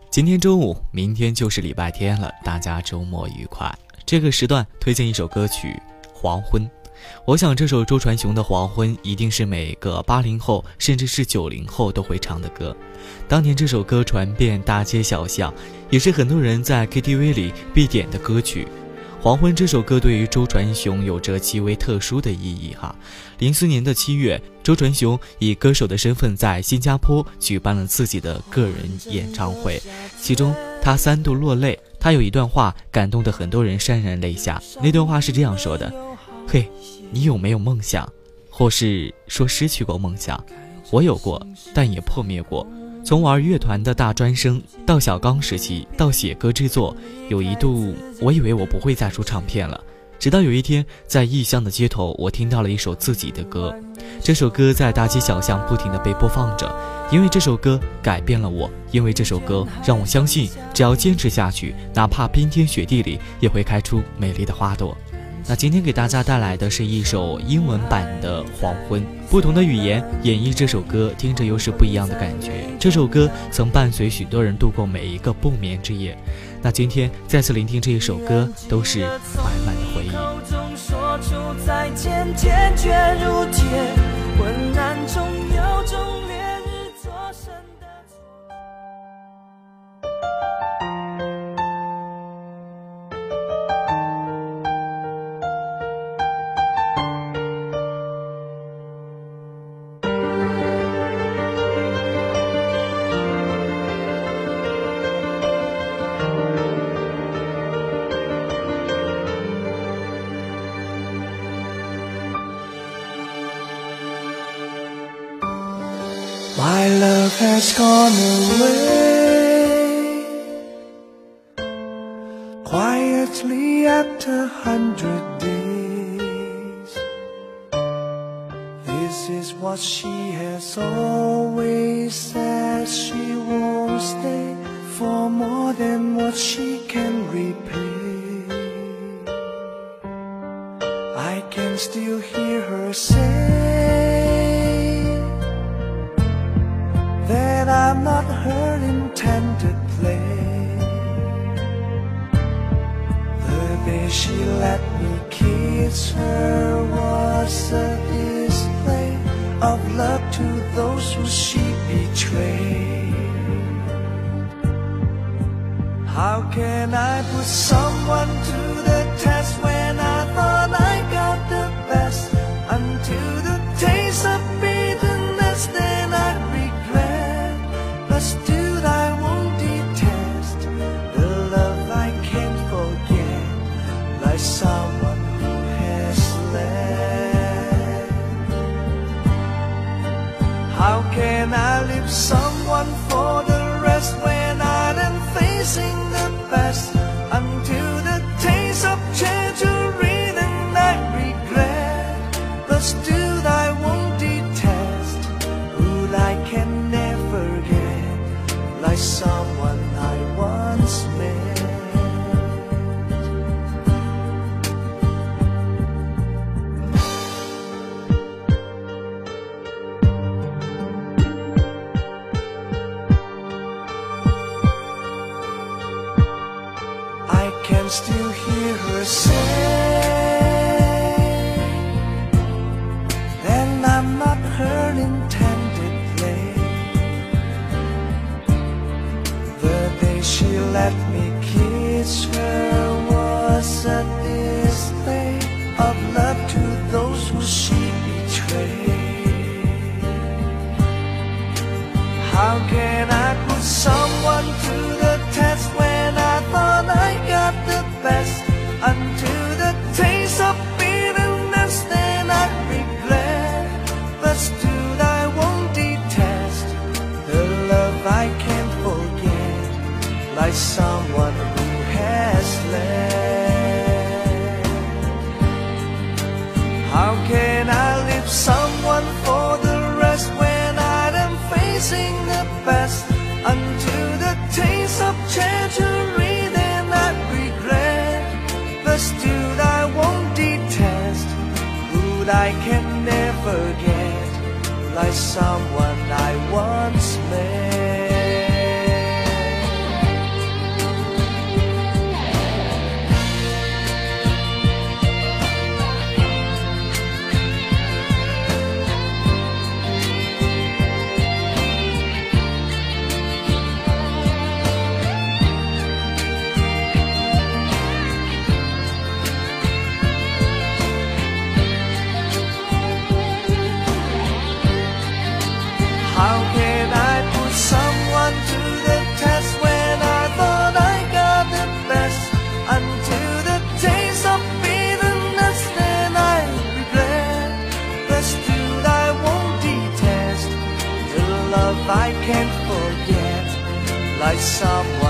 今天周五，明天就是礼拜天了，大家周末愉快。这个时段推荐一首歌曲《黄昏》。我想这首周传雄的《黄昏》一定是每个80后甚至是90后都会唱的歌。当年这首歌传遍大街小巷，也是很多人在 KTV 里必点的歌曲。黄昏这首歌对于周传雄有着极为特殊的意义哈。04年的7月，周传雄以歌手的身份在新加坡举办了自己的个人演唱会，其中他3度落泪。他有一段话感动得很多人潸然泪下，那段话是这样说的：嘿，你有没有梦想？或是说失去过梦想？我有过，但也破灭过。从玩乐团的大专生到小刚时期，到写歌制作，有一度我以为我不会再出唱片了。直到有一天，在异乡的街头，我听到了一首自己的歌。这首歌在大街小巷不停地被播放着，因为这首歌改变了我，因为这首歌让我相信，只要坚持下去，哪怕冰天雪地里，也会开出美丽的花朵。那今天给大家带来的是一首英文版的《黄昏》，不同的语言演绎这首歌，听着又是不一样的感觉。这首歌曾伴随许多人度过每一个不眠之夜。那今天再次聆听这一首歌，都是满满的回忆。 说出再见，坚决如铁，昏暗中有种烈日灼身的My love has gone away quietly after 100 days. This is what she has always said. She won't stay for more than what she can repay. I can still hear her say that I'm not her intended play. The day she let me kiss her was a display of love to those who she betrayed. How can I put someone to the test when I thought I got the best? Until the taste of bitterness, then I regret. But still I won't detest the love I can't forget, like someone who has left. How can I leave someone for the rest when I am facing the best? Until the taste of treasury, then I regret. But still I won't detest who I can never get, like someone I once met. I can still hear her say, then I'm not her intended play. The day she let me kiss her was a display of love to those who she betrayed. How can I put someone to the test when I thought I got the best? Until the taste of bitterness, then I regret. But still I won't detest the love I can't forget, like someone who has left. How can I leave someone for the rest when I am facing the best? Until the taste of treasury, then I regret. But still I won't detest who I can never get, like someone I once met. like someone